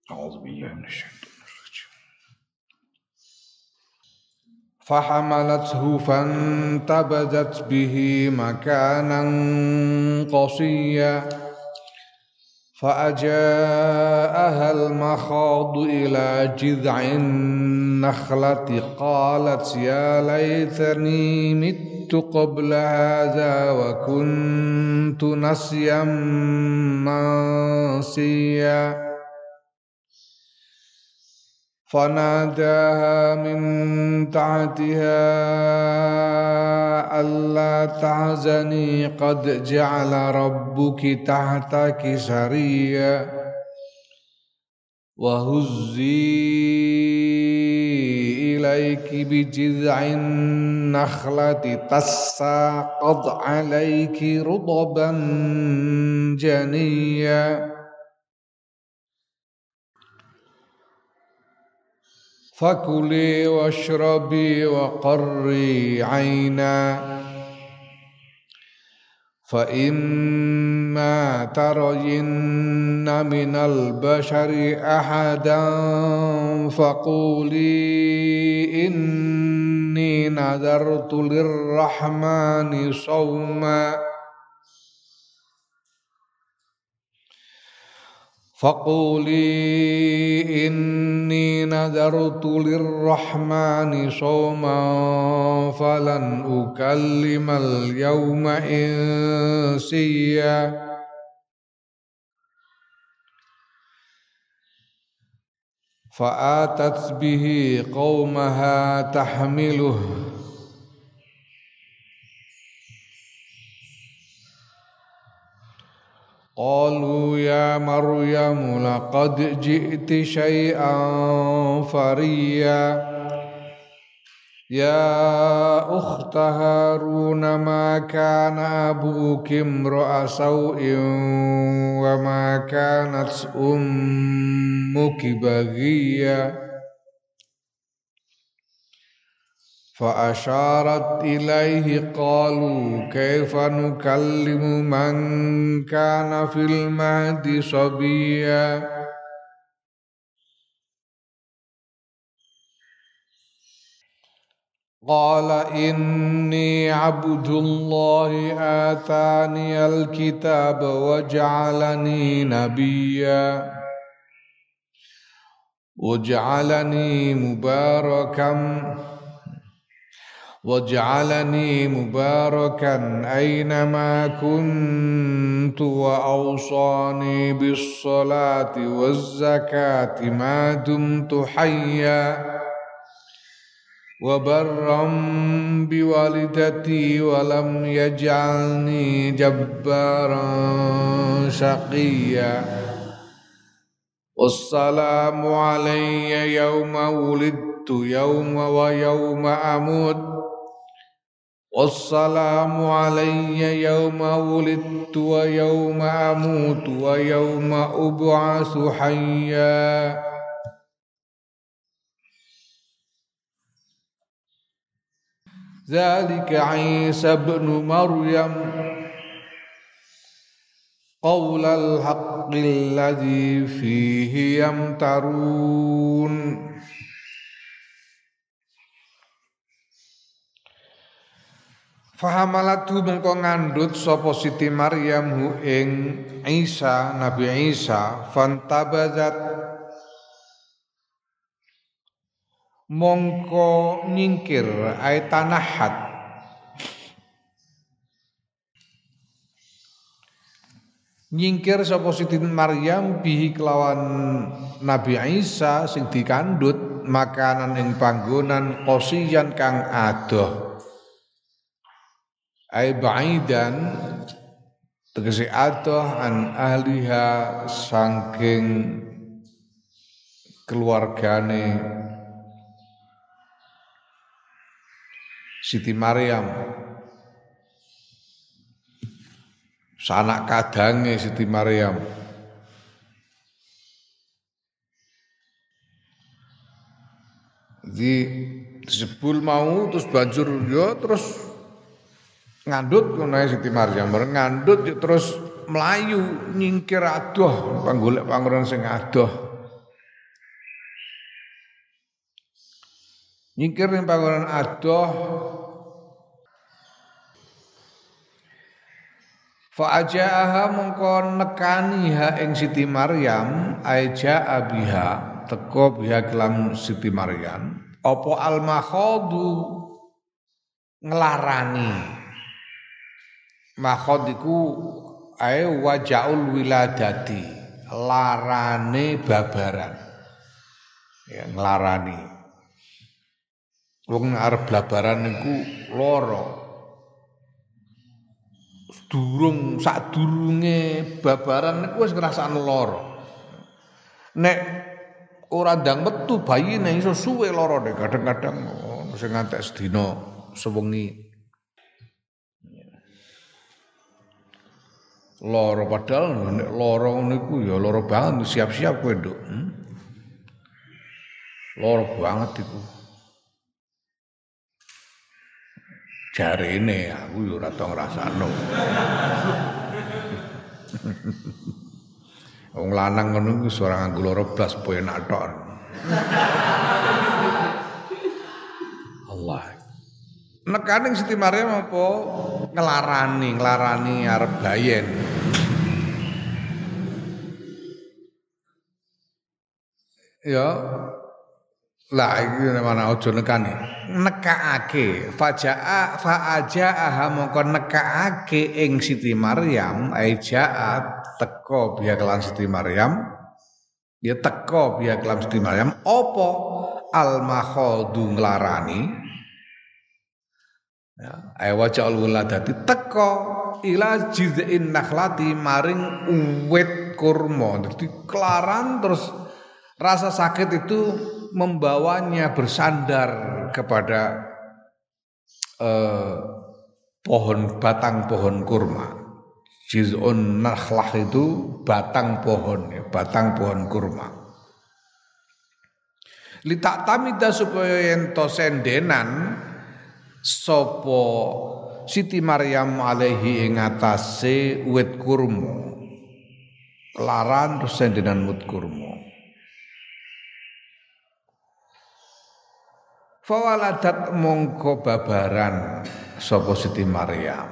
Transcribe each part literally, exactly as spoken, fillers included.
أعوذ بالله من الشيطان الرجيم. فحملته فانتبذت به مكانا قصيا فأجاءها المخاض إلى جذع النخلة قالت يا ليتني مت قبل هذا وكنت نسيا منسيا فناداها من تحتها ألا تحزني قد جعل ربك تحتك سريا وهزي إليك بجذع النخلة تساقط عليك رطبا جنيا فكلي واشربي وقري عينا فإما ترين من البشر أحدا فقولي إني نذرت للرحمن صوما فقولي إني نذرت للرحمن صوما فلن أكلم اليوم إنسيا فآتت به قومها تحمله قالوا يا مريم لقد جئت شيئا فريا يا أخت هارون ما كان أبوك امرأ سوء وما كانت أمك بغيا فأشارت إليه قالوا كيف نكلم من كان في المهد صبيا قال إني عبد الله آتاني الكتاب وجعلني نبيا وجعلني مباركا وجعلني مباركا أينما كنت وأوصاني بالصلاة والزكاة ما دمت حيا وبرا بوالدتي ولم يجعلني جبارا شقيا والسلام علي يوم ولدت يوم ويوم أموت والسلام علي يوم ولدت ويوم أموت ويوم أبعث حيا ذلك عيسى ابن مريم قول الحق الذي فيه يمترون Fahamalatu mengko ngandut sapa Siti Maryam hu ing Isa Nabi Isa fantabazat mongko nyingkir ay tanahat nyingkir sapa Siti Maryam bihi kelawan Nabi Isa sing dikandut makanan ing panggonan qosiyan kang adoh ay ba'idan tegese adoh an ahliha saking keluargane Siti Maryam sanak kadange Siti Maryam di disebul mau terus banjur yo terus ngandut ngono Siti Maryam bareng ngandut terus melayu nyingkir adoh panggolek pangeran sing adoh nyingkir ning panggonan adoh fa ajaaha mongko nekani ha ing Siti Maryam aja abiha teko biha kelam Siti Maryam apa al makhadu nglarani makhad iku ae wajaul wiladati larane babaran ya nglarani wong arep blabaran niku lara durung sadurunge babaran niku wis ngrasakno lara nek ora ndang metu bayine iso suwe larane kadang-kadang sing ngantek sedina sewengi lara padahal nek lara niku ya lara banget siap-siap kowe nduk hmm? Lara banget iku jarene aku yo ora tau ngrasakno. Wong lanang ngono iku ora nganggo lara blas penak tok. Allah. Nekaning Siti Maryam apa nglarani, nglarani arep bayen. Ya lah iki mana aja nekani. Nekake fajaa faajaha mongko nekake ing Siti Maryam aijaa teko biya kelan Siti Maryam ya teko biya kelan Siti Maryam apa al makhadu nglarani ya ay waja'al wuladati teko ila jiz'in nakhlati maring uwit kurma dadi kelaran terus rasa sakit itu membawanya bersandar kepada eh, pohon batang pohon kurma. Jiz'un nakhlah itu batang pohon ya, batang pohon kurma. Litak tamida supaya ento sendenan sopo Siti Maryam alaihi ing atase wit kurma. Laran terus sendenan wit kurma. Fawaladat mongko babaran sapa Siti Maryam.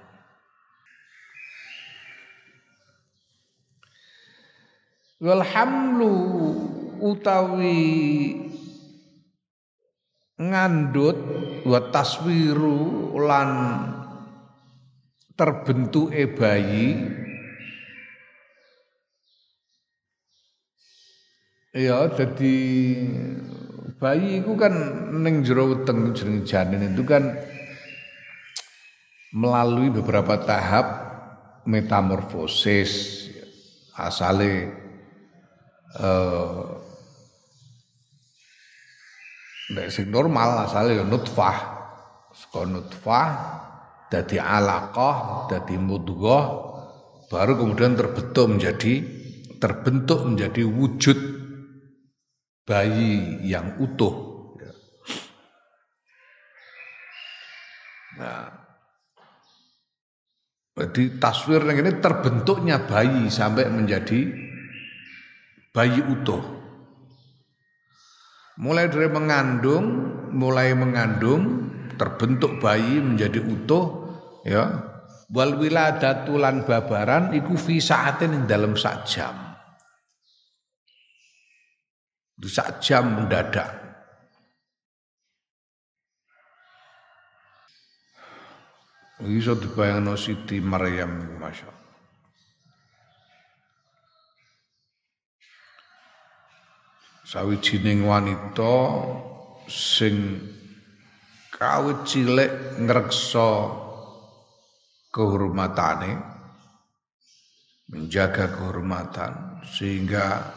Wal hamlu utawi ngandut wa taswiru lan terbentuke bayi ya jadi bayi itu kan ning jero weteng jeneng janin itu kan melalui beberapa tahap metamorfosis asale eh nek sing normal asale ya nutfah saka nutfah dadi alaqah dadi mudghah baru kemudian terbentuk menjadi terbentuk menjadi wujud bayi yang utuh. Nah, jadi taswir yang ini terbentuknya bayi sampai menjadi bayi utuh. Mulai dari mengandung, mulai mengandung, terbentuk bayi menjadi utuh, ya. Wal wiladatu lan babaran iku fi saatin ing dalam sak jam. Sak jam mendadak. Iso dibayangno Siti Maryam Masya Allah. Sawijining wanita sing kawit cilik ngreksa kehormatane, menjaga kehormatan sehingga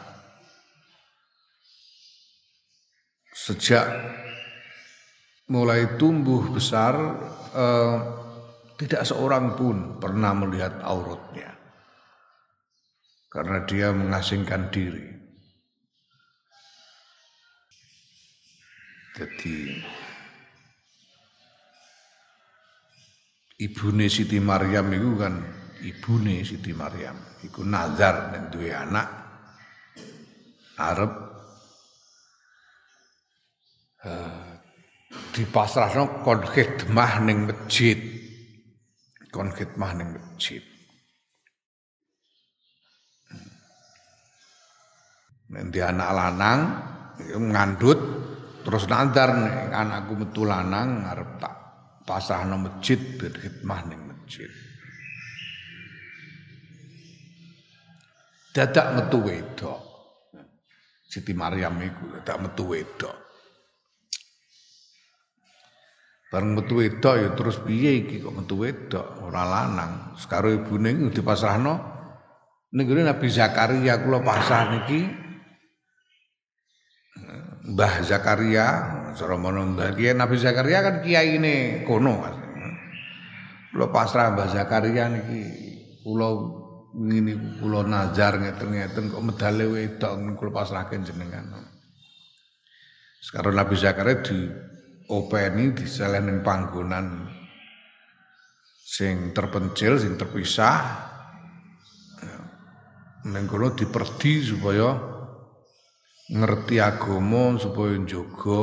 sejak mulai tumbuh besar eh, tidak seorang pun pernah melihat auratnya karena dia mengasingkan diri. Jadi ibune Siti Maryam itu kan ibune Siti Maryam iku nazar nek duwe anak arep uh, dipasrahno kon khidmah ning masjid. Kon khidmah ning masjid. Nek anak lanang ngandut terus nadar nek anakku metu lanang arep tak pasrahno masjid ben khidmah ning masjid. Dadak metu wedok. Siti Maryam iku dadak metu wedok. Bareng metu wedok ya terus piye iki kok metu wedok ora lanang. Sekaro ibune dipasrahno ning gone Nabi Zakaria kula pasrah niki Mbah Zakaria, cara mono Mbah Kiai Nabi Zakaria kan kiyaine kono Mas. Kula pasrah Mbah Zakaria niki kula ngene kula nazar ngeten-ngeten kok medale wedok kula pasrahke jenengan. Sekarang Nabi Zakaria di openi diselen ning panggonan sing terpencil, sing terpisah. Ning kono diperdi supaya ngerti agama supaya njaga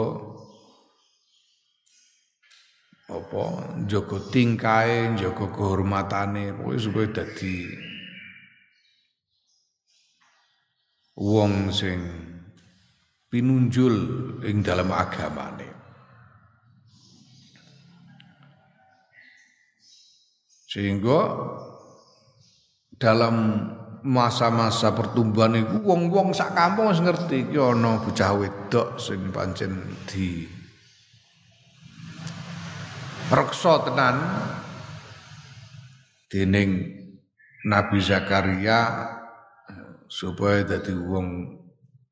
apa njaga tingkae, njaga kehormatane, pokoke supaya dadi wong sing pinunjul ing dalam agamane. Sehingga dalam masa-masa pertumbuhan itu wong-wong sak kampung wis ngerti iki ana bocah wedok sing pancen di reksa tenan dening Nabi Zakaria supaya dadi wong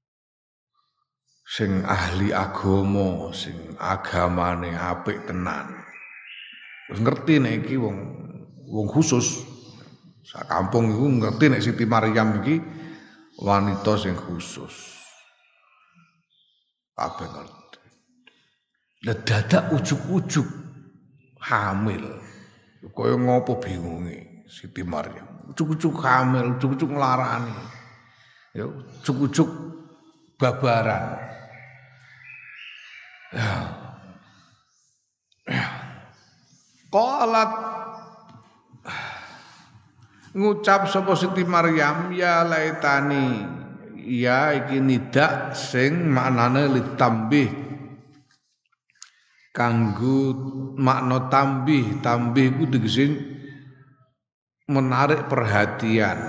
sing ahli agama, sing agamane apik tenan. Wis ngerti nek iki wong wong khusus. Sak kampung iku ngerti nek Siti Maryam iki wanita sing khusus. Kabeh ngerti. Lah dadak ujug-ujug hamil. Kaya ngopo bingunge Siti Maryam. Ujug-ujug hamil, ujug-ujug nglarani. Ya ujug-ujug babaran. Ya. Ya. Qalat ngucap sapa Siti Maryam ya laitani ya iki nidak sing maknane litambih kanggo makna tambih tambih ku tegese menarik perhatian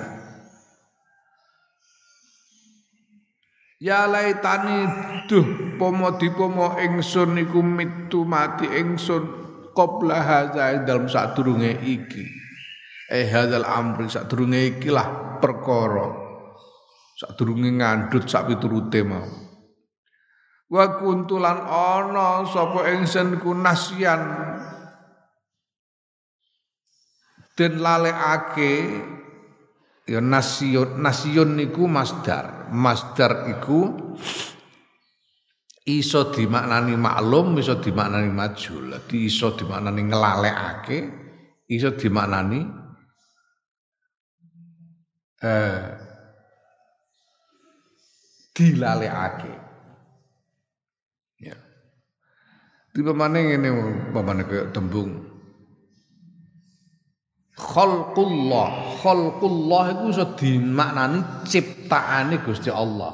ya laitani duh pomo dipomo ingsun iku mitu mati ingsun qabla hadza dalam sadurunge iki eh hadzal amri sadurunge iki lah perkara sadurunge ngandhut sak piturute mau wa kuntulan ana sapa ingsun ku nasyan den lalekake ya nasyon nasyon niku masdar masdar iku iso dimaknani maklum iso dimaknani majhul iso dimaknani nglalekake iso dimaknani Eh, dilalekake. Ya. Tipe mana ngene pamane kaya tembung khalqullah, khalqullah iku iso dimaknani ciptaane Gusti Allah.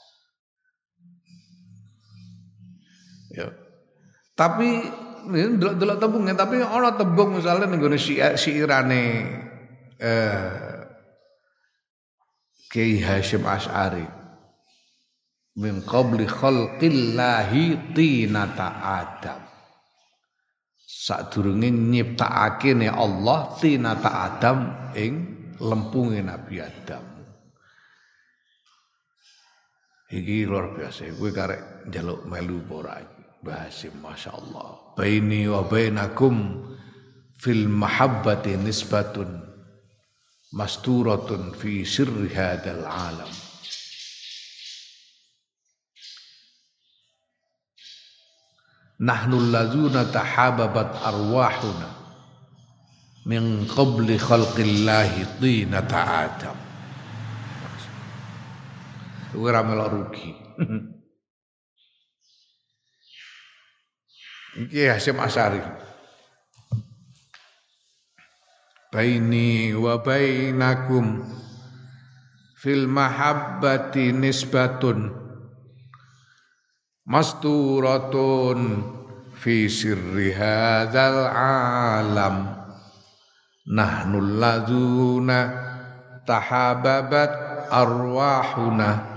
Ya. Tapi delok-delok tembungnya tapi ana tembung misalnya ning gone syairane eh Kiai Hasyim Asy'ari min qabli khalqillahi tinata Adam sadurunge nyiptakake ne Allah tinata Adam ing lempunge Nabi Adam iki luar biasa kowe karek njaluk melu ora iki Mbah Hasyim masyaallah baini wa bainakum fil mahabbati nisbatun masturatun fi sirri hadzal alam nahnu allazuna tahababat arwahuna min qabli khalqillahi tinata adam ora melok rugi Iki Hasyim Asy'ari. Baini wa bainakum fil mahabbati nisbatun masturatun fi sirri hadzal alam nahnu alladzuna tahababat arwahuna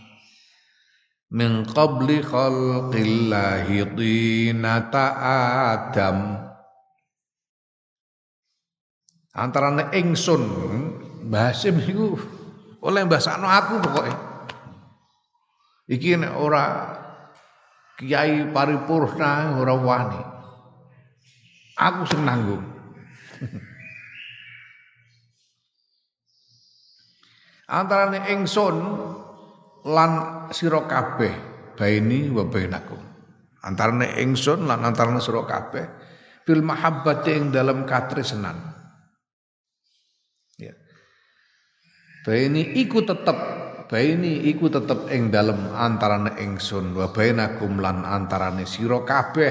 min qabli khalqillahi tinata adam. Antarane ingsun Mbah Hasyim iku oleh mbasakno aku pokoke. Iki nek ora kiai paripurna ora wani. Aku sing nanggung. Antarane ingsun lan sira kabeh baini wa bainakum. Antarane ingsun lan antarane sira kabeh fil mahabbati ing dalem katresnan. Ya. Baini iku tetep baini iku tetep ing dalem antarane ingsun wa bainakum lan antarane sira kabeh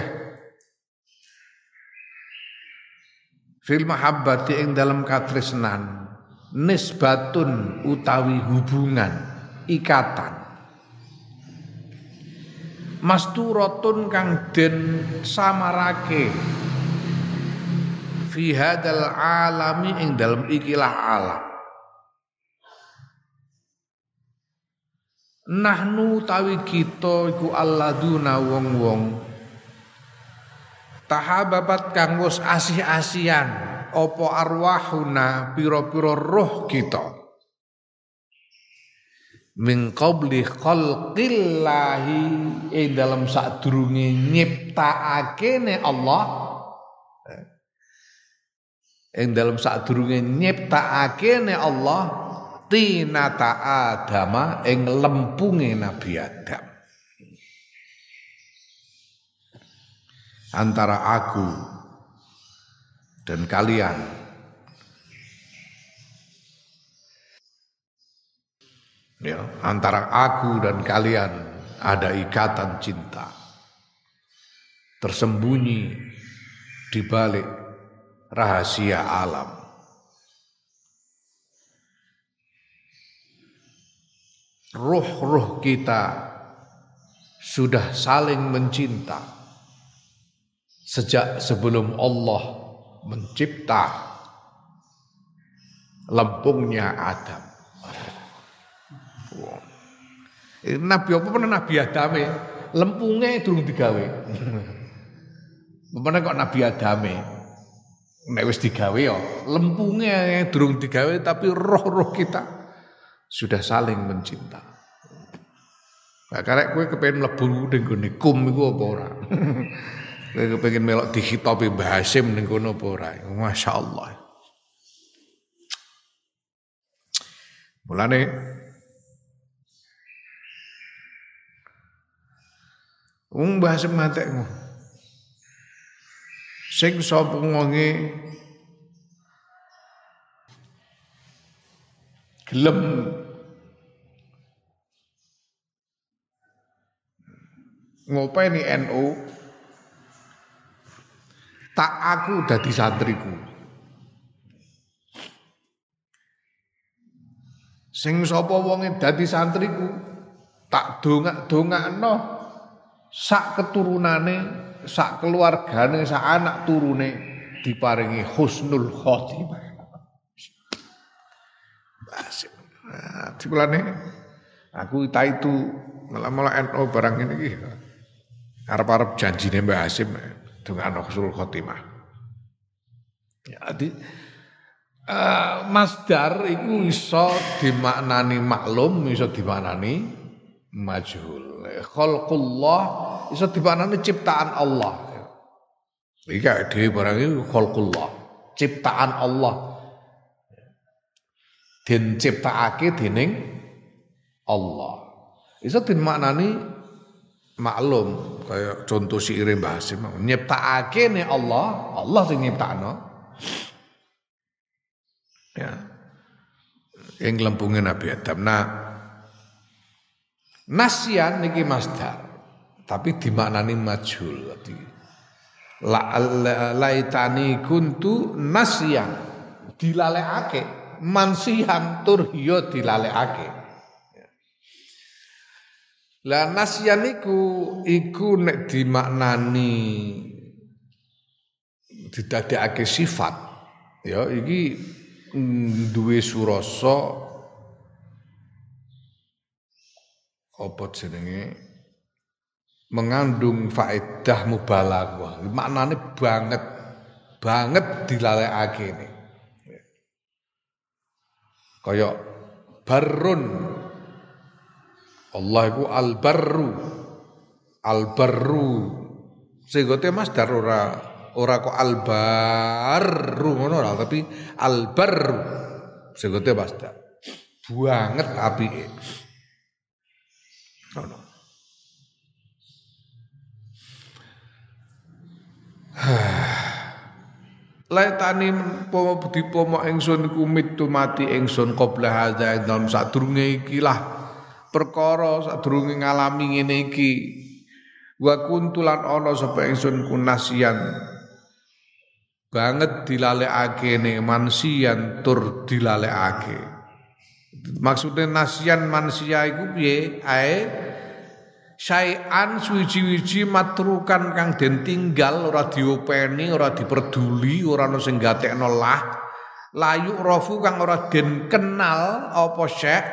fil mahabbati ing dalem katresnan nisbatun utawi hubungan ikatan masturatun kang den samarake fi hadzal alami ing dalem ikilah alam nahnu tawi kita iku alladuna wong-wong tahababat kang wis asih-asihan apa arwahuna pira-pira roh kita min qabli khalqillahi ing dalam sadurunge nyiptakake ne Allah ing dalam sadurunge nyiptakake ne Allah tinata adama ing lempunge Nabi Adam antara aku dan kalian ya, antara aku dan kalian ada ikatan cinta tersembunyi di balik rahasia alam. Ruh-ruh kita sudah saling mencinta sejak sebelum Allah mencipta lempungnya Adam. Nabi apa pernah Nabi Adam lempungnya durung digawe. Pernah kok Nabi Adam nek wis digawe ya lempungnya durung digawe tapi roh-roh kita sudah saling mencinta. Nah, karek kowe kepengin mlebu ning gone kum iku apa ora? Kowe kepengin melok dihitopi Mbah Hasyim ning kono apa ora? Masyaallah. Mulane wong Mbah Hasyim mantek ngono. Sing sapa wonge gelem ngopeni N U tak aku dadi santriku. Sing sapa wonge dadi santriku tak dongak-dongakno sak keturunane, sak keluargane, sak anak turune diparingi husnul khotimah. Nah, dikulane aku ta itu malah-malah N U barang ini iki arep-arep janjine Mbah Hasyim dengan husnul khotimah. Jadi uh, masdar iku iso dimaknani maklum, iso dimaknani majhul. Khalqullah iso dimaknani ciptaan Allah. Iki dhewe barang iki khalqullah, ciptaan Allah. Den ciptakake dening Allah. Iso dimaknani maklum kaya contoh syaire Mbah Hasyim nyiptakake ne Allah, Allah sing nyiptakno. Ya. Ing lempunge Nabi Adam. Nah, nasyan niki masdar, tapi dimaknani majhul. La, la laitani kuntu nasyan dilalekake, mansihan tur hiya dilalekake. Lah nasyan iku iku nek dimaknani didadekake sifat ya iki duwe surasa apa jenenge mengandung faedah mubalaghah. Maknane banget banget dilalekake ini. Kaya barrun. Allah iku al-barru. Al-barru. Segote masdar ora ora kok al-barru ngono ora, tapi al-barru. Segote masdar. Banget apike. Ngono. Laitani pomo budi pomo ingsun iku mitu mati ingsun qabla hadza dalam sadurunge iki lah perkara sadurunge ngalami ngene iki wa kuntulan ana sapa ingsun kunasian banget dilalekake ne mansian tur dilalekake. Maksudnya nasian mansia iku piye ae syai'an suwiji-wiji matrukan kang den tinggal ora diopeni, ora diperduli, ora ono sing gatekno lah. Layu rafu kang ora den kenal apa syek.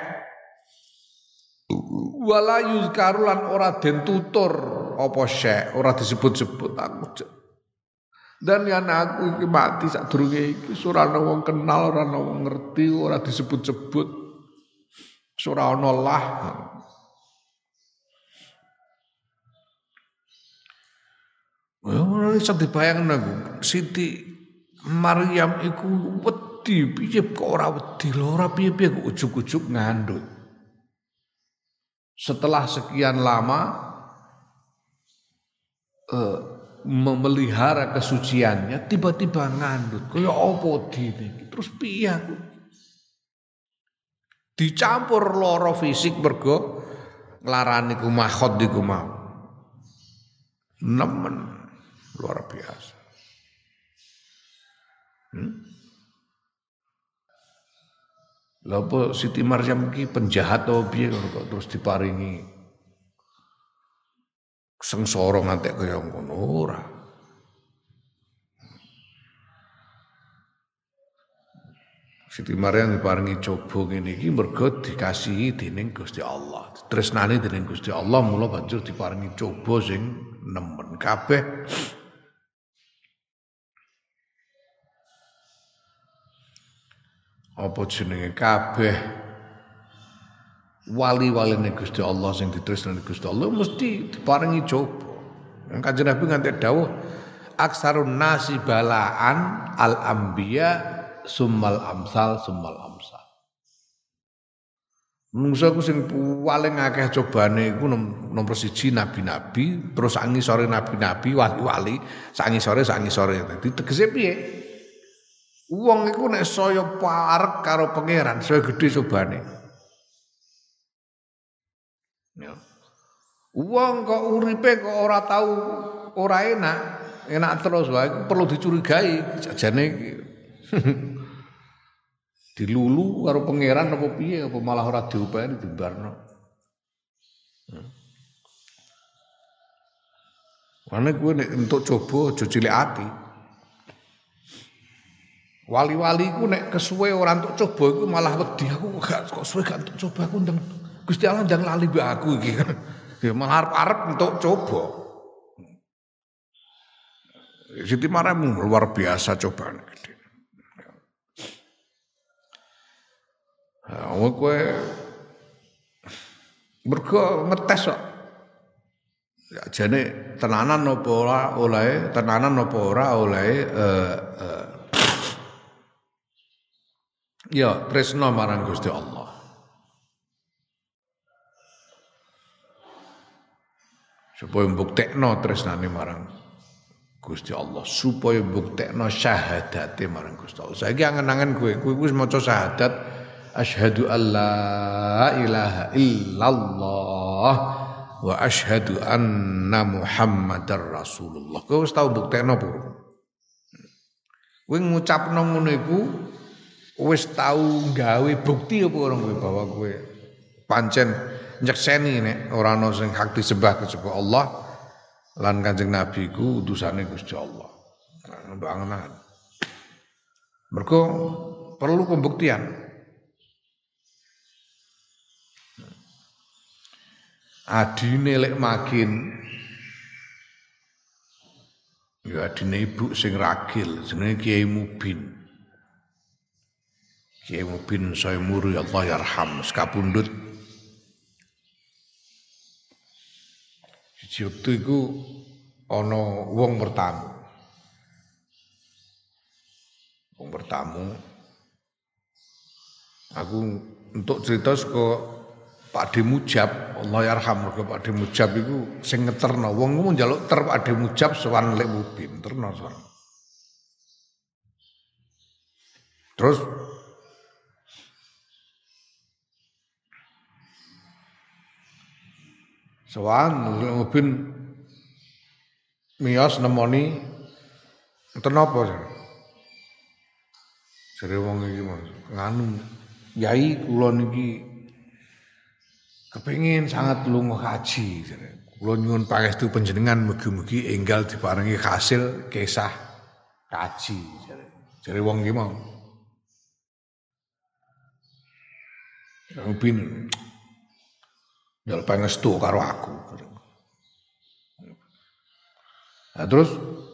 Wala yuzkaru lan ora den tutur apa syek, ora disebut-sebut aku. Dan yen aku iki mati sadurunge iki ora ana wong kenal, ora ana wong ngerti, ora disebut-sebut. Ora ana lah. Ya ora iso dibayangno aku. Siti Maryam iku wedi piye kok ora wedi lho, ora piye-piye kok ujug-ujug ngandut. Setelah sekian lama eh, memelihara kesuciannya tiba-tiba ngandut. Kaya apa dene? Terus piye aku? Dicampur lara fisik mergo nglarani ku mahot iku mau. Nemen luar biasa. Hmm? Lha apa Siti Maryam ki penjahat atau piye kok terus diparingi sengsara ngantek kaya ngono ora. Siti Maryam diparingi coba ngene iki mergo dikasihi dening Gusti Allah. Tresnane dening Gusti Allah mula banjur diparingi coba sing nemen kabeh. Apa jenenge kabeh wali-waline Gusti Allah sing ditresnani Gusti Allah mesti diparingi coba. Yang Kanjeng Nabi nganti dawuh aksarun nasi balaan al anbiya summal amsal summal amsal. Menungso ku sing paling akeh cobane iku nomor siji nabi-nabi, terus sangisore nabi-nabi, wali-wali, sangisore sangisore. Dadi tegese piye? Wong iku nek saya parek karo pangeran, saya gedhe cobane. Ya. Wong kok uripe kok ora tahu ora enak, enak terus wae perlu dicurigai jajane iki. Dilulu karo pangeran apa piye apa malah ora diupeni dibarno. Karena gue nek entuk coba aja cilik ati. Wali-wali ku nek kesuwe ora entuk coba iku malah wedi aku gak kok suwe gak entuk coba aku ndang Gusti Allah ndang lali mbek aku iki. Ya malah arep-arep entuk coba. Siti Maryam luar biasa cobaan gede. Nah, kowe mergo ngetes kok. Ya jane tenanan apa ora oleh, tenanan apa ora oleh eh, eh, ya tresna marang Gusti Allah. Supaya mbuktekno tresnane marang Gusti Allah, supaya mbuktekno syahadate marang Gusti Allah. Saiki angen-angen kowe, kowe wis maca syahadat asyhadu alla ilaha illallah wa asyhadu anna Muhammadar Rasulullah. Kowe wis tau buktekno apa? Kowe ngucapno ngono iku wis tau gawe bukti apa ora kowe bahwa kowe pancen nyekseni nek ora ana sing hak disembah kejaba Allah lan Kanjeng Nabi ku utusane Gusti Allah. Bangenan. Mergo perlu pembuktian. Adine lek makin ya adine ibu sing ragil jenenge Kiai Mubin. Kiai Mubin saya muri Allah yarham sekapundhut. Siji wektu iku ana wong bertamu. Wong bertamu. Aku untuk cerita saka Pak De Mujab, Allah yarham mergo Pak De Mujab iku sing ngeterno wong ku njaluk ter Pak De Mujab sowan Lek Mubin, terno sowan. Terus sowan Lek Mubin miyos nemoni enten apa jare? Jare wong iki nganu, Yai kula niki kepengin sangat lunga haji. Kula nyuwun pangestu panjenengan mugi-mugi enggal diparingi hasil kisah kaji. Jare wong iki mau. Rupin njal pangestu karo aku. Nah, terus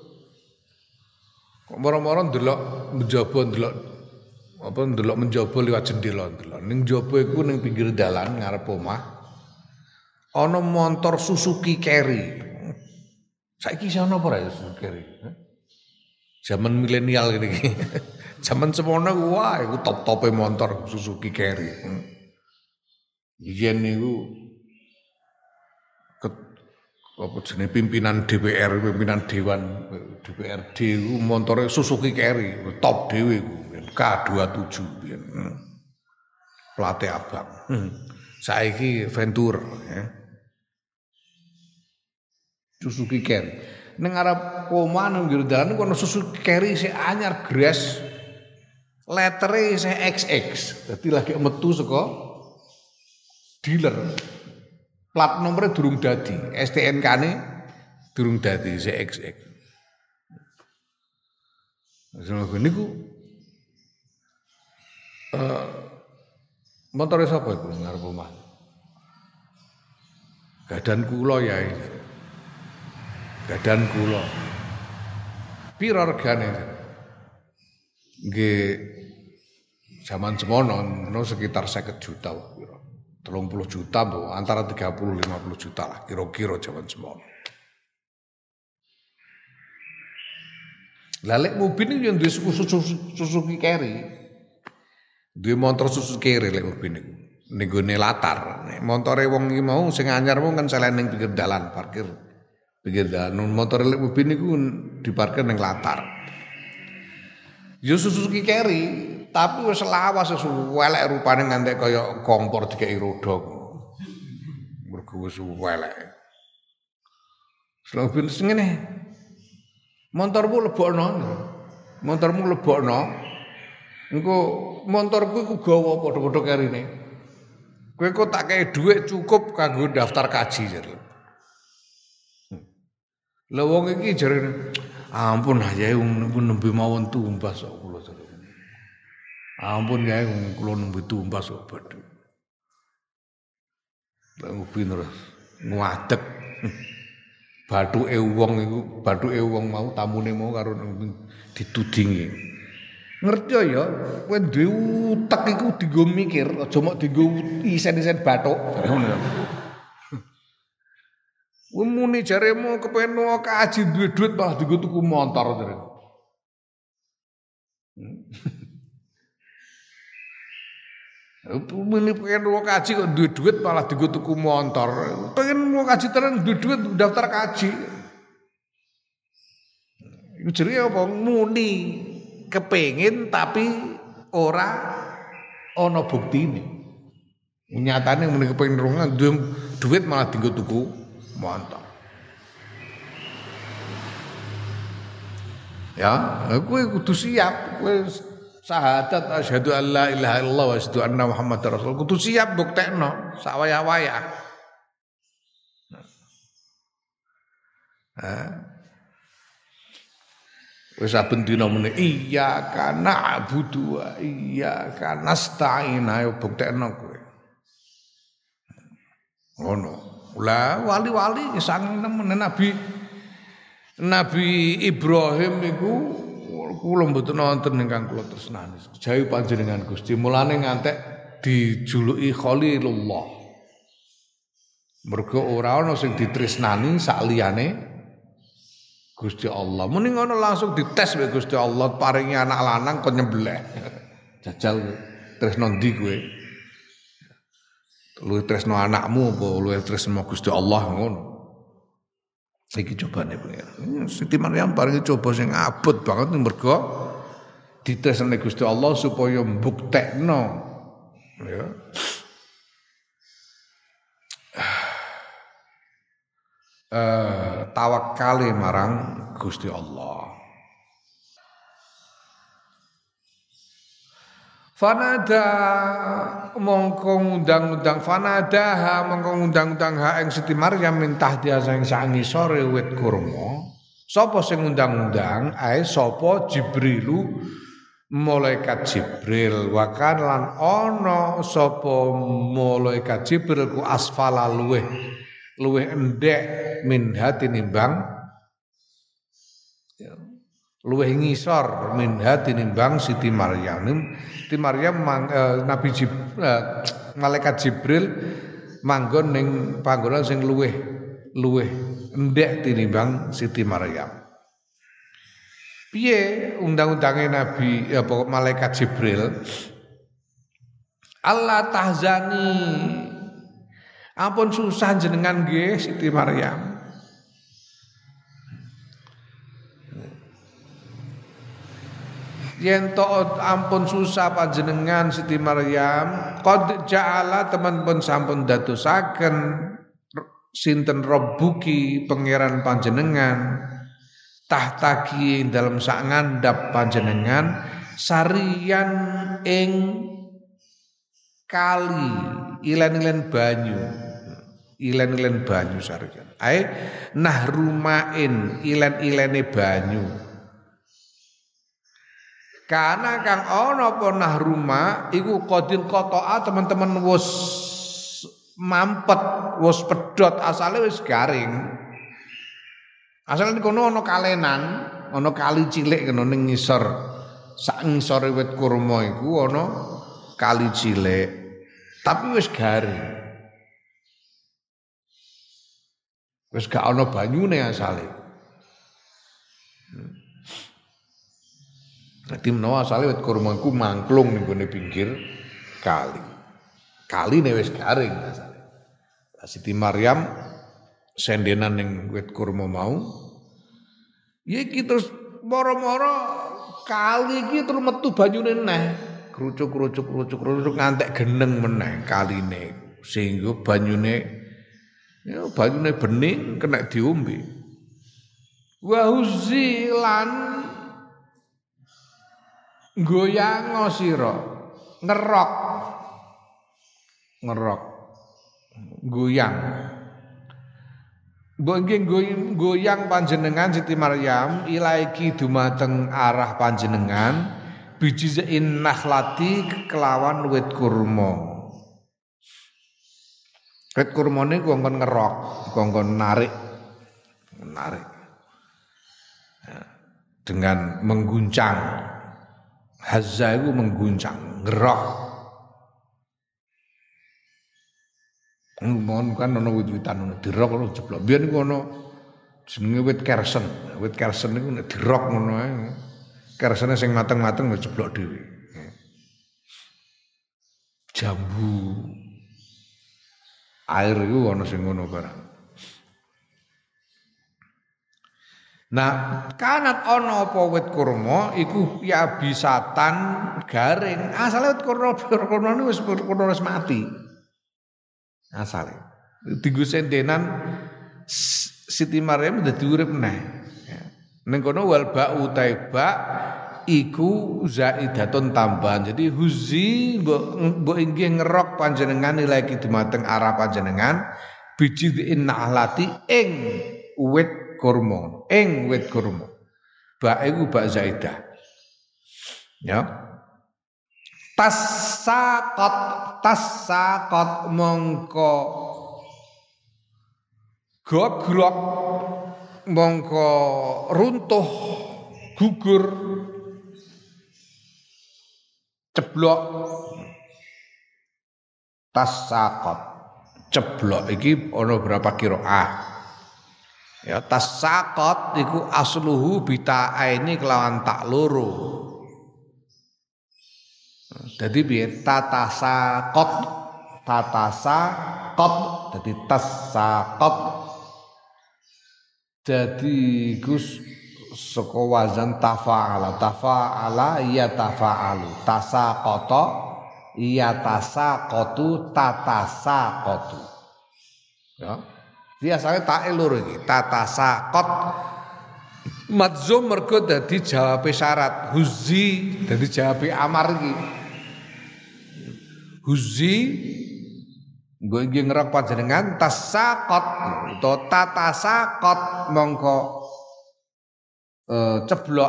kok moro-moro ndelok njaba ndelok apa ndelok menjaba liwat jendela ndelok. Ning njaba iku ning pinggir dalan ngarep omah ana montor Suzuki Carry. Saiki isih ana apa ora Suzuki Carry? Zaman milenial gini iki. Zaman semono wah iku top-tope montor Suzuki Carry. Biyen niku apa jenenge pimpinan D P R, pimpinan Dewan D P R D iku montore Suzuki Carry, top dhewe iku. K dua puluh tujuh biyen. Plate abang. Saiki Venture ya. Suzuki Carry. Ning arep omah nang njero dalan kono Suzuki Carry sing anyar gres. Lettere sing X X. Dadi lagi metu saka dealer. Plat nomornya durung dadi, S T N K-ne durung dadi sing X X. Jenenge niku eh montore sapa iku ngarep omah? Gadan kula ya. Gadan kula. Pira regane? Nggih zaman semono no sekitar seket juta pira. tiga puluh juta mbok antara tiga puluh lima puluh juta lah kira-kira zaman semono. Lah Lek Mubin iki yo duwe Suzuki Carry. Duwe motor Suzuki Carry Lek Mubin iku. Ning gone latar. Nek montore wong iki mau sing anyar mau kan selain ning pinggir dalan parkir. Pinggir dalan motor Lek Mubin iku diparkir ning latar. Yo Suzuki Carry tapi wis lawas wis welek rupane ngantek kaya kompor dikeki roda. Mergo wis welek. Sloben sing ngene. Montormu lebokno. Montormu lebokno. Engko montorku iku gawa padha-padha karine. Kowe kok tak kei dhuwit cukup kanggo daftar kaji jare. Lah wong iki jare ampun ya nembe mawon tumbas kok kula jare. Ampun ya kula nembe tumbas kok badhe. Lah ngupi terus nguadeg. Bathuke wong iku, bathuke wong mau tamune mau karo ditudingi. Ngerti ya, kowe duwe utek iku dienggo mikir, aja mok dienggo isen-isen bathuk. Ngono ya. Kowe muni jaremu kepen kaji duwe duit malah dienggo tuku motor jare. Muni pengen wong kaji kok duwe duit malah dienggo tuku motor. Pengen wong kaji tenan duwe duit daftar kaji. Iku jenenge apa? Muni kepengin tapi ora ana buktine. Nyatane muni kepengin rungan duit malah dienggo tuku montor. Ya, kowe kudu siap, kowe syahadat asyhadu alla ilaha illallah wa asyhadu anna muhammadar rasul kudu siap buktekno sak wayah-wayah. Nah. Wis saben dina muni iyyaka na'budu wa iyyaka nasta'in ayo buktekno kowe. Ngono. Lah wali-wali sang nemen Nabi Nabi Ibrahim iku kula mboten wonten ingkang kula tresnani. Jawi panjenengan Gusti mulane ngantek dijuluki Khalilullah. Mergo ora ana sing ditresnani sak liyane Gusti Allah. Muni ngono langsung dites wae Gusti Allah paringi anak lanang kon nyembelih. Jajal tresno ndi kowe? Luwih tresno anakmu apa luwih tresno Gusti Allah ngono. Iki cobane pengen. Siti Maryam paringi coba sing abot banget mergo ditresnane Gusti Allah supaya mbuktekno ya. Eh, tawakale marang Gusti Allah. Fanada mongko ngundang-undang fanadaha mongko ngundang-undang ha ing Siti Maryam mintah dia sing sangisore wit kurma. Sapa sing ngundang-undang? Ae sapa Jibrilu malaikat Jibril wakan lan ana sapa malaikat Jibril ku asfala luweh luweh endek minha tinimbang ya, luweh ngisor minha tinimbang Siti Maryam. Siti Maryam mang, eh, Nabi Jib, eh, malaikat Jibril manggon ning panggonan sing luweh luweh endek tinimbang Siti Maryam. Piye undang-undange Nabi ya pokok malaikat Jibril Allah tahzani ampun susah jenengan nggih Siti Maryam. Yen to ampun susah panjenengan Siti Maryam, qad ja'ala teman-teman sampun dadosaken sinten rabbuki pangeran panjenengan tahtaki dalam sak ngandhap panjenengan sarian ing kali ilen-ilen banyu ilen-ilen banyu sarian ae nahrumain ilen-ilene banyu karena kang ana apa nahruma iku qadin qata'a teman-teman wis mampet wis pedhot asale wis garing asale kono ana kalenan ana kali cilik kena ning ngisor sak ngisore wit kurma iku ana kali cilik tapi wis garing wis gak ana banyune asale. Dadi menawa asale wit kurma iku mangklung ning gone pinggir kali. Kaline wis garing asale. Siti Maryam sendenan ning wit kurma mau. Ya iki terus moro-moro kali iki terus metu banyune neh. Krucuk-krucuk-krucuk-krucuk ngantek geneng meneh kaline sehingga banyune ya banyune bening kena diombe. Wa huzilan goyang sira ngerok ngerok goyang mbok nggih goyang panjenengan Siti Maryam ilaiki dumateng arah panjenengan bijizain nakhlati kelawan wit kurma wit kurmane kongkon ngerok kongkon narik narik ya, dengan mengguncang hazza itu mengguncang, ngerok. Mohon kan ana wit-witan ngono dirok ngono jeblok. Biyen iku ana jenenge wit kersen. Wit kersen niku nek dirok ngono ae. Kersene sing mateng-mateng wis jeblok dhewe. Jambu. Air iku ana sing ngono barang. Nah, kanat ana apa wit kurma iku ya bisatan garing. Asale wit kurma kurma wis kurma wis mati. asale. Dienggo sendenan Siti Maryam dadi urip neh. Ning kono wal ba'u taiba iku zaidatun tambahan. Jadi huzi mbok inggih ngerok panjenengan ilaiki dumateng arah panjenengan biji innalati ing wit kurma, ing wit kurma. Ba iku ba zaidah. Ya. Tasaqat tasaqat mongko gogrok mongko runtuh gugur ceblok tasaqat ceblok iki ana berapa qiraah ya tasaqat iku asluhu bita'aini kelawan tak loro dadi piye tatasaqat tatasaqat dadi tasaqat jadi Gus saka wazan tafa'ala tafa'ala ya tafa'alu tasaqata ya tasaqatu tatasaqatu ya dia asale tak loro iki tatasaqat madzum mergo dadi jawabe syarat huzi dadi jawabe amar iki huzi nggo iki ngrek panjenengan tasaqat utawa tatasaqat mongko e, ceblok.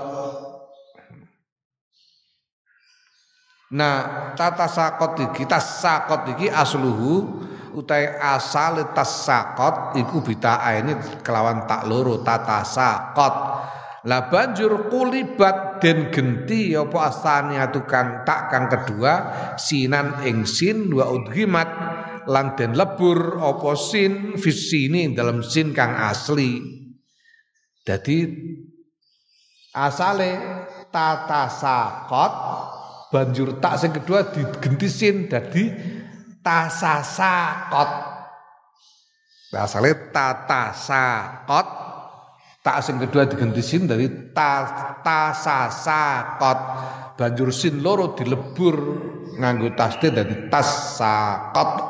Nah, tatasaqat iki tasaqat iki asluhu utahe asal tasaqat iku bita'aini kelawan tak loro tatasaqat. Lah banjur kulibat den genti apa asania tukang tak kang kedua sinan ing sin wa udhimat lan den lebur apa sin fis sini dalam sin kang asli. Dadi asale tatasaqat banjur tak sing kedua digenti sin dadi tasasaqat. Asale tatasaqat tak sing kedua digenti sin dari tasasaqat banjur sin loro dilebur nganggo tasdid dadi tasaqat.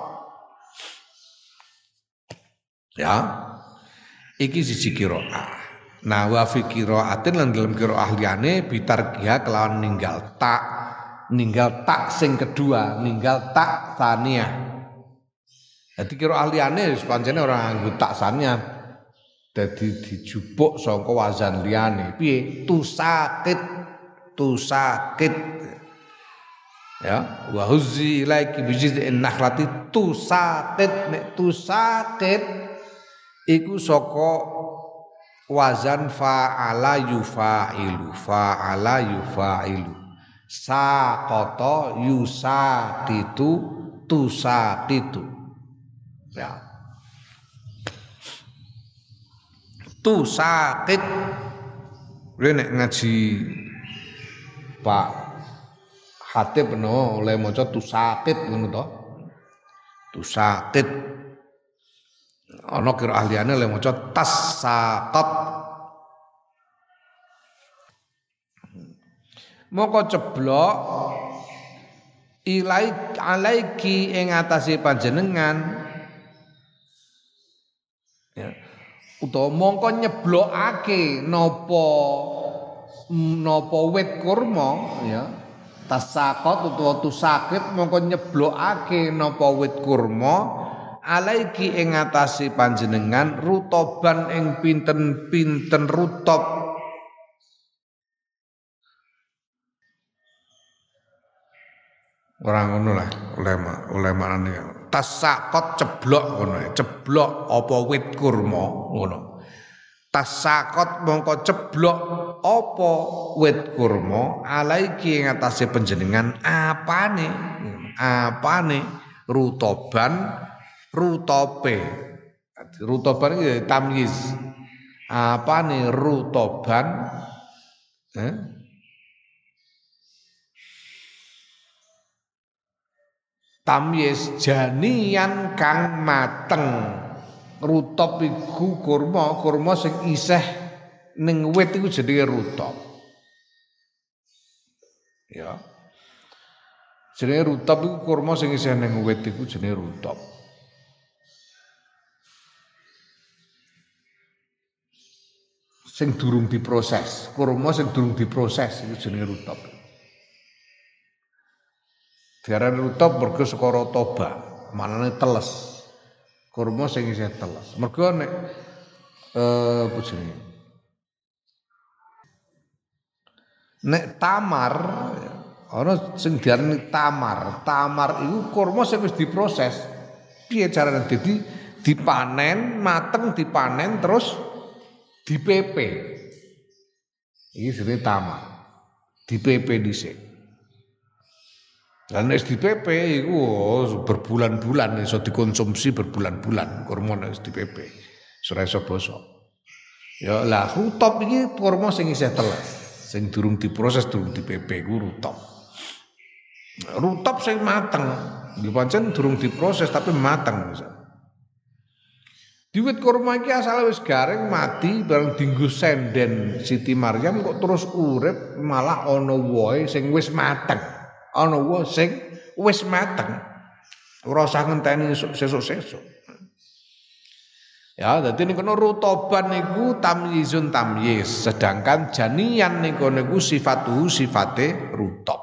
Ya, iki siji qiraah. Nah, wa fi qiraatin lan dalam qiraah liyane bitarkiha kelawan ninggal tak, ninggal tak sing kedua, ninggal tak tsaniyah. Dadi qiraah liyane pancene ora nganggo tak tsaniyah. Dadi dijupuk saka wazan liyane. Piye? Tusaqit, tusaqit. Ya, wa huzzi ilaiki bijiz'in nakhlati tusaqit, nek tusaqit iku saka wazan fa'ala yufa'ilu fa'ala yufa'ilu saqata yusaqitu tusaqitu ya tusaqit rene ngaji Pak Hatib no oleh maca tusaqit ngono to tusaqit ana qiraah liyane le maca tasaqat moko ceblok ilai alaiki ing atase panjenengan ya utawa mongko nyeblokake napa napa wit kurma ya tasaqat utawa tusaqit mongko nyeblokake napa wit kurma alaiki ing atase panjenengan rutoban ing pinten-pinten rutob ora ngono lah ulama ulamane tasaqat ceblok ngono ceblok apa wit kurma ngono tasaqat mongko ceblok apa wit kurma alaiki ing atase panjenengan apane apane rutoban rutope rutoban iki tamyiz apane rutoban eh? Tamyiz janian kang mateng rutop iku kurma kurma sing isih ning wit iku jenenge rutop ya jenenge rutop iku kurma sing isih ning wit iku jenenge rutop sing durung diproses, kurma sing durung diproses iku jenenge rutop. Diarani rutop mergo saka rotoba, manane teles. Kurma sing isih teles. Mergo nek eh apa jenenge? Nek tamar ana sing diarani tamar. Tamar iku kurma sing wis diproses. Piye carane dadi dipanen, mateng dipanen terus dipepe. Iki jenenge tamar. Dipepe dhisik. Lan nek dipepe iku oh, berbulan-bulan iso dikonsumsi berbulan-bulan kurma nek dipepe. Ora iso bosok. Ya lah rutop iki kurma sing isih teles, sing durung diproses durung dipepe iku rutop. Rutop sing mateng, iki pancen durung diproses tapi mateng misal. Diwit kurma iki asale wis garing mati bareng dienggo senden Siti Maryam kok terus urip malah ana wohe sing wis mateng. Ana woh sing wis mateng. Ora usah ngenteni sesuk-sesuk. Ya, dadi ning kono rutoban niku tamyizun tamyiz, sedangkan janian ning kono niku sifatuhu sifate rutop.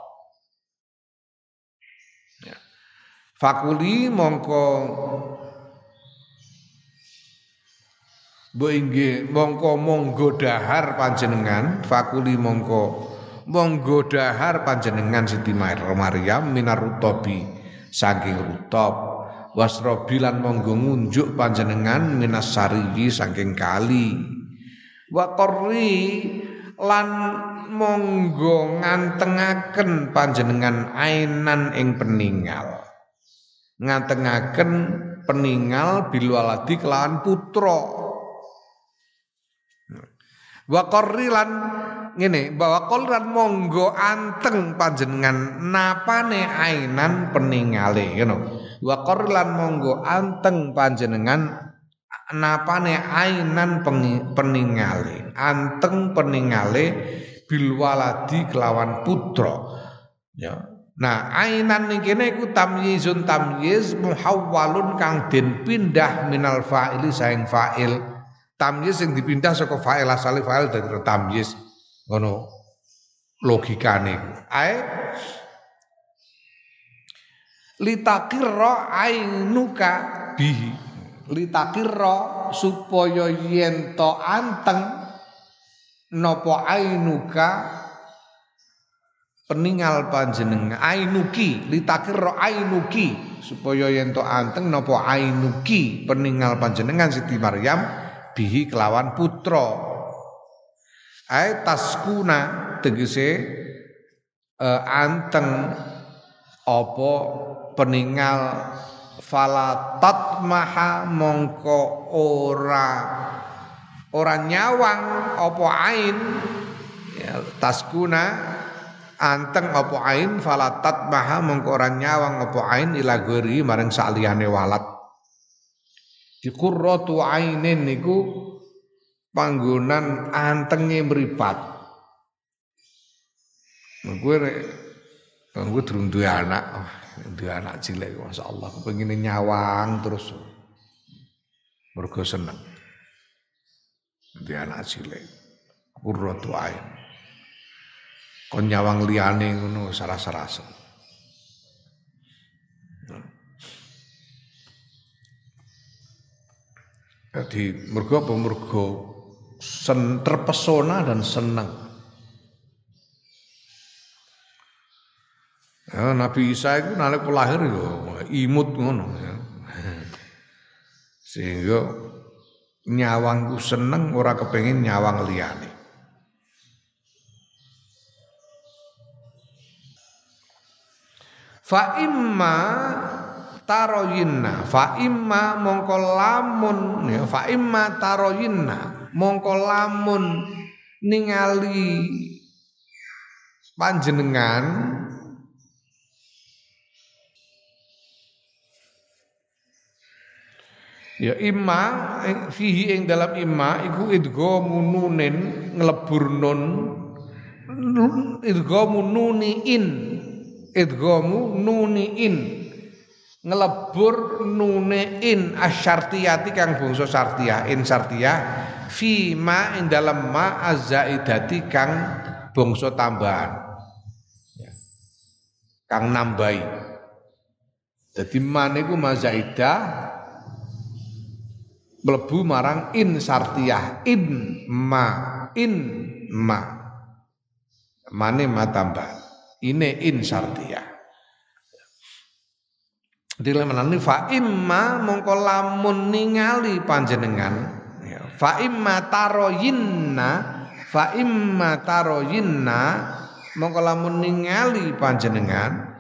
Ya. Fakuli mongko Mbok inggih mongko monggo dahar panjenengan, fakuli mongko monggo dahar panjenengan Siti Maryam minar rutobi saking rutop wasrobi lan monggo ngunjuk panjenengan minas sariyi saking kali wa qarri lan monggo ngantengaken panjenengan ainan ing peninggal ngantengaken peninggal bilwaladi kelawan putra wa qarri lan ngene bahwa kolran monggo anteng panjenengan napane ainan peningale ngono wa qorlan monggo anteng panjenengan napane ainan peningale anteng peningale bil waladi kelawan putra ya nah ainan niki niku tamyizun tamyiz muhawwalun kang den pindah minal fa'ili saing fa'il tamyiz sing dipindah saka fa'il asale fa'il dadi tamyiz ngono logikane ae litakirra ainuka bihi litakirra supaya yen to anteng napa ainuka peninggal panjenengan ainuki litakirra ainuki supaya yen to anteng napa ainuki peninggal panjenengan Siti Maryam bihi kelawan putra ai taskuna tegese uh, anteng apa peninggal falatat maha mongko ora ora nyawang apa ain ya, taskuna anteng apa ain falatat maha mongko ora nyawang apa ain ila gori marang saliyane walad diqurratu ainin niku panggonan antenge mripat. Kowe rek kowe durung duwe anak, duwe anak cilik masyaallah kepengine nyawang terus. Mergo seneng. Duwe anak cilik. Qurratu ain. Kon nyawang liyane ngono saras-sarasen. Jadi mergo apa mergo sen terpesona dan senang. Ya, Nabi Isa itu nalika lahir yo imut ngono ya. Sehingga nyawangku seneng ora kepengin nyawang liyane. Fa imma taroyinna fa imma mongko lamun ya fa imma taroyinna mongko lamun ningali panjenengan ya imma fihi ing dalam imma iku idghamu nunin nglebur nun idghamu nuniin idghamu nuniin ngelebur nune in asyartiyati kang bangsa syartiyah in syartiyah fi ma ing dalem ma azaidati kang bangsa tambahan ya. Kang nambahi dadi ma niku ma zaidah mlebu marang in syartiyah in ma in ma mane ma tambahan ine in syartiyah. Dilemenani fa imma mongko lamun ningali panjenengan ya, fa imma taroyinna fa imma taroyinna mongko lamun ningali panjenengan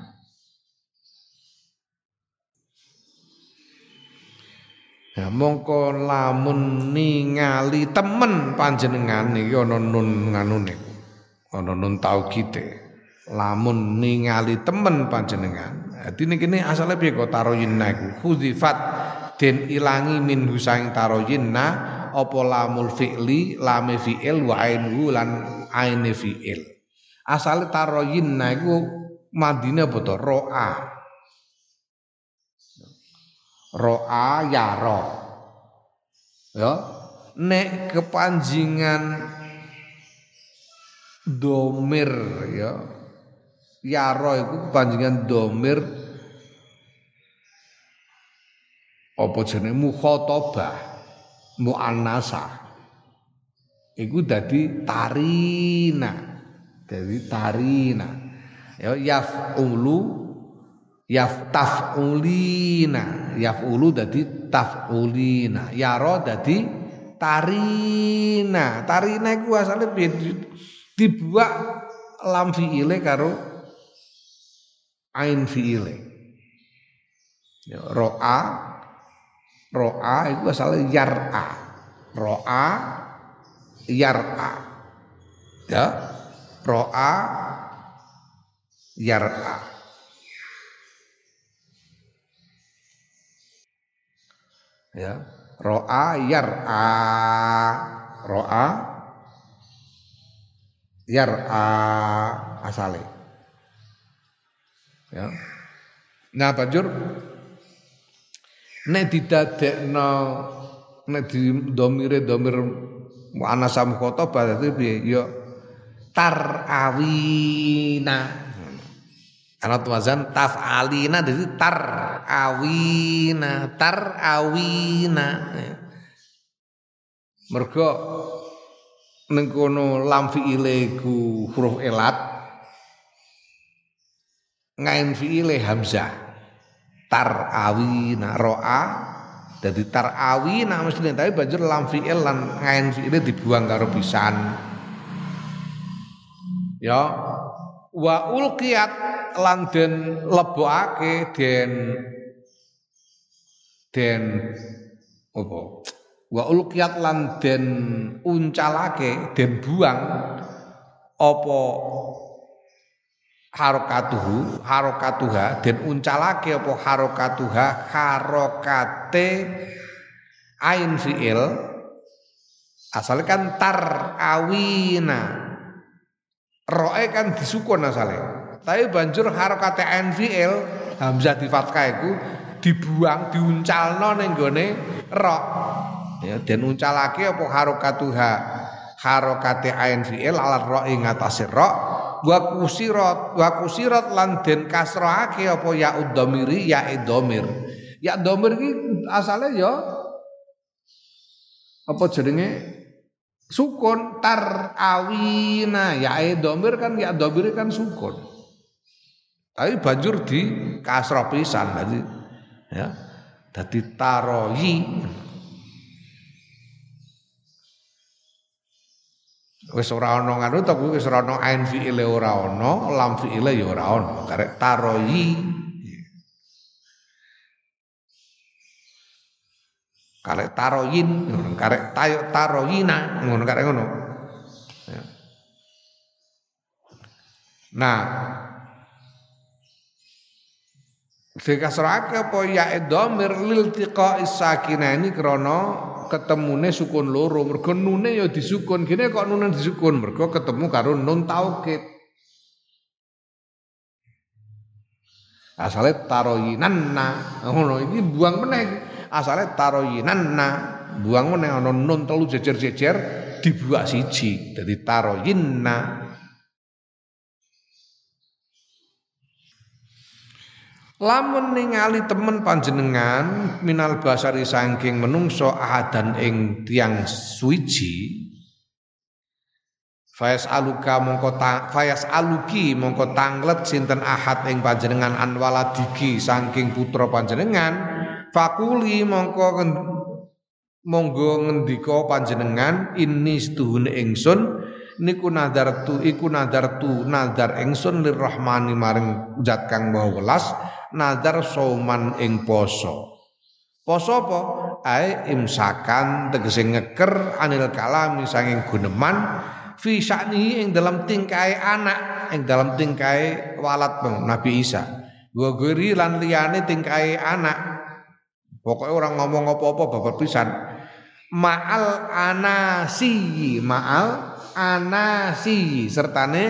ya mongko lamun ningali temen panjenengan iki ana nun nganune ana nun taukite lamun ningali temen panjenengan. Dadi niki asale piye kok taroyinna iku hudzifat den ilangi min husaing taroyinna apa lamul fi'li lame fi'il wa ainhu lan aine fi'il. Asale taroyinna iku madine apa to ro'a. Ro'a yara. Ya, nek kepanjingan domir ya yaro iku panjenengan domir apa jenenge mukhatabah muannasah iku dadi tarina dadi tarina ya yaf'ulu yaftaf'ulina yaf'ulu dadi taf'ulina yaro dadi tarina tarina iku asale dibuak lam fi'ile karo ain fi'ile ya, ro'a ro'a itu asalnya yar'a ro'a yar'a ya ro'a yar'a ya ro'a yar'a ro'a yar'a asale ya. Nah banjur nek didadekno nek di domire domir muannasa mukhatabah dadi piye ya tarawina ana wazan taf'alina dadi tarawina tarawina mergo ning kono lam fi'ile ku huruf elat ngain fi'ile hamzah tarawina ro'a dadi tarawina mesti tapi banjur lam fi'il lan ngain fi'ile dibuang karo pisan ya wa ulqiyat lan den lebokake den den apa wa ulqiyat lan den uncalake den buang apa harokatuhu harokatuha den uncalake apa harokatuha harokate ain fi'il asalnya kan tarawina roe kan disukun asalnya tapi banjur harokate ain fi'il hamzah di fathah iku dibuang diuncalno ning gone ro ya den uncalake apa harokatuha harokate ain fi'il ala ro ing atase ro wa kusirat wa kusirat lan den kasrahake apa ya udhamiri ya idhamir ya dhamir iki asale ya apa jenenge sukun tarawina ya idhamir kan ya dhamir kan sukun tapi banjur di kasrah pisan dadi ya dadi taroyi wis ora ana ngono to kuwi wis ora ana ain fi'ile ora ana lam fi'ile ya ora ana karek taroyi karek taroyin karek tayo taroyina ngono karek ngono ya. Nah dikasrahake apa ya dhamir lil tiqa'is sakinani krana ketemune sukun loro mergo nune ya disukun gene kok nune disukun mergo ketemu karo nun taukid Asale taroyinanna ngono iki buang meneh. Asale taroyinanna buang meneh ana nun telu jejer-jejer dibuak siji dadi taroyinna. Lamun ningali temen panjenengan minal basari saking menungso ahadan ing tiang suwiji Fayas aluka mongko ta, fayas aluki mongko tanglet sinten ahad ing panjenengan anwaladiki saking putra panjenengan fakuli mongko monggo ngendika panjenengan ini setuhune ingsun niku nadartu iku nadartu nadar ingsun lirrahmani maring zat kang maha welas nadar sauman ing poso poso apa ae imsakan tegese ngeker anil kalami sanging guneman fi sya'nihi ing dalam tingkai anak ing dalam tingkai walad Nabi Isa wa ghairi lan liyane tingkai anak pokoknya orang ngomong apa-apa babar pisan ma'al anasi ma'al anasi sertane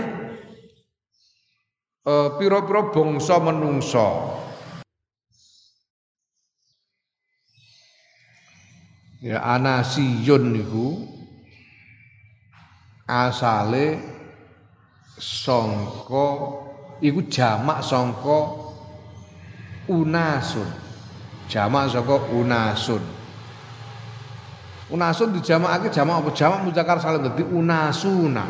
uh, pira-pira bangsa menungso ya anasiyun niku asale sangka iku jamak sangka unasun jamak sangka unasun unasun dijamakake jamak apa jamak muzakkar salim dadi unasuna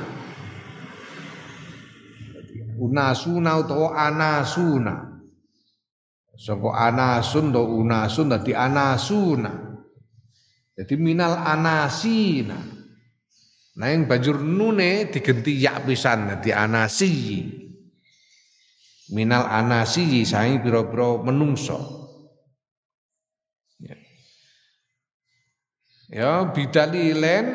unasuna utawa anasuna sangka anasun to unasun dadi anasuna dadi minal anasina. Nah yang banjur nune digenti ya pisan dadi anasi. Minal anasi saing pira-pira menungso. Ya. Ya bidalilen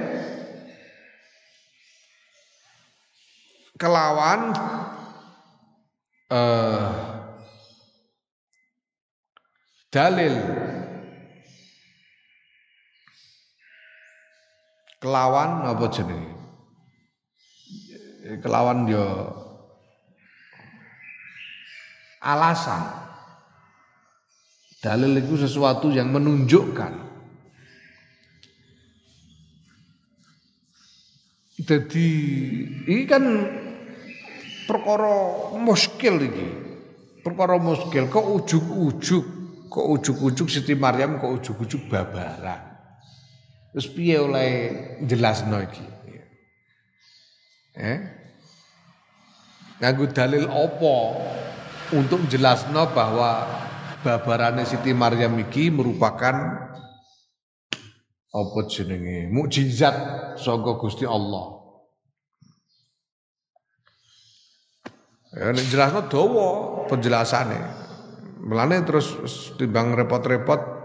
kelawan eh, dalil kelawan apa jenenge kelawan yo alasan dalil itu sesuatu yang menunjukkan jadi ini kan perkara muskil iki perkara muskil kok ujug-ujug kok ujug-ujug Siti Maryam kok ujug-ujug babaran terus piye oleh jelasno iki? Eh? Nganggo dalil apa untuk jelasno bahwa babarane Siti Maryam iki merupakan apa jenenge? Mukjizat saka Gusti Allah. Ya nek jelasno dawa penjelasane. Mulane terus timbang repot-repot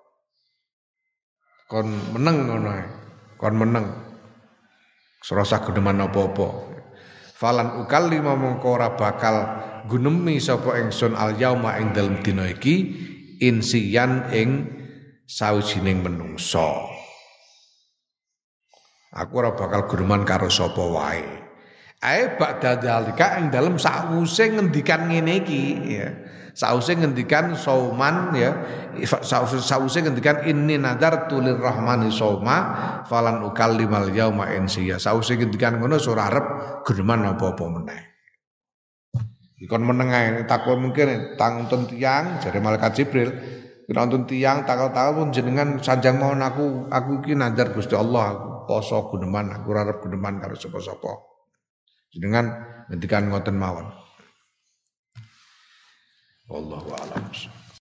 kon meneng ngono ae kon meneng serasa guneman apa-apa falan ukallima mongko ora bakal gunemi sapa ingsun al yauma ing dalem dina iki insiyan ing sawijining menungso aku ora bakal guneman karo sapa wae ae ba'da dzalika ing dalem sawuse ngendikan ngene iki ya sause ngendikan sauman ya sause ngendikan inni nadartu lirrahmani sauma falan ukallimal yauma insiya sause ngendikan ngono ora arep geneman apa-apa meneh ikon meneng ae takon mungkin tangton tiyang jare malaikat Jibril nonton tiyang takal-takal pun jenengan sanjang mohon aku aku iki nadar Gusti Allah aku poso geneman aku ora arep geneman karo sapa-sapa jenengan ngendikan ngoten mawon wallahu a'lam.